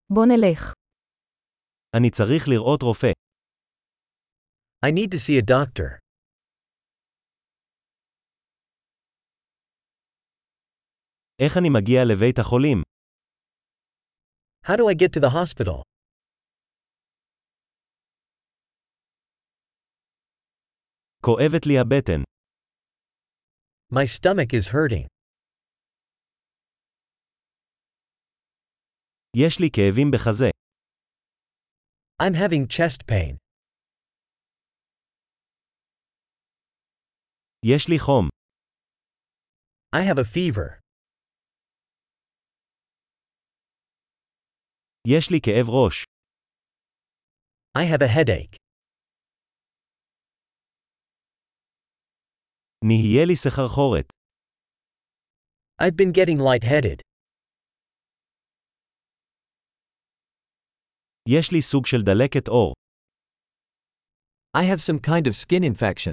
בוא נלך. אני צריך לראות רופא. I need to see a doctor. איך אני מגיע לבית החולים? How do I get to the hospital? כואבת לי הבטן. My stomach is hurting. יש לי כאבים בחזה. I'm having chest pain. יש לי חום. I have a fever. יש לי כאב ראש. I have a headache. נהיה לי סחרחורת. I've been getting lightheaded. יש לי סוג של דלקת עור. I have some kind of skin infection.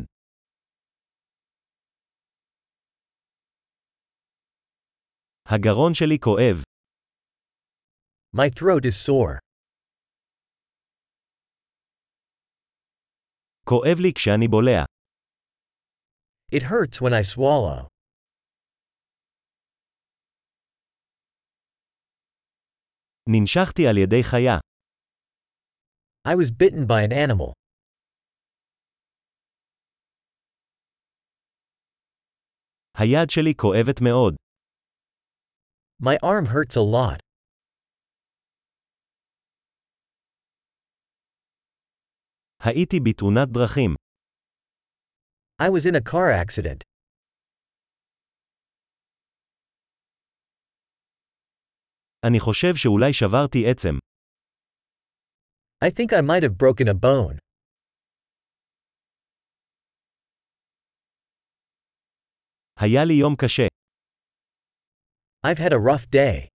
הגרון שלי כואב. My throat is sore. כואב לי כשאני בולע. It hurts when I swallow. ננשכתי על ידי חיה. I was bitten by an animal. היד שלי כואבת מאוד. My arm hurts a lot. הייתי בתאונת דרכים. I was in a car accident. אני חושב שאולי שברתי עצם. I think I might have broken a bone. היה לי יום קשה. I've had a rough day.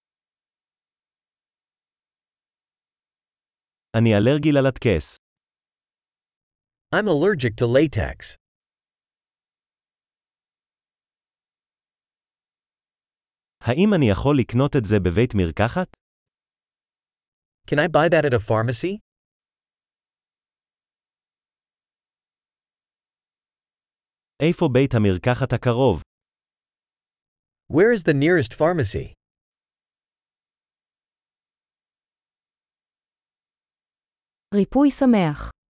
אני אלרגי ללטקס. I'm allergic to latex. האם אני יכול לקנות את זה בבית מרקחת? Can I buy that at a pharmacy? איפה בית המרקחת הקרוב? Where is the nearest pharmacy? ריפוי שמח.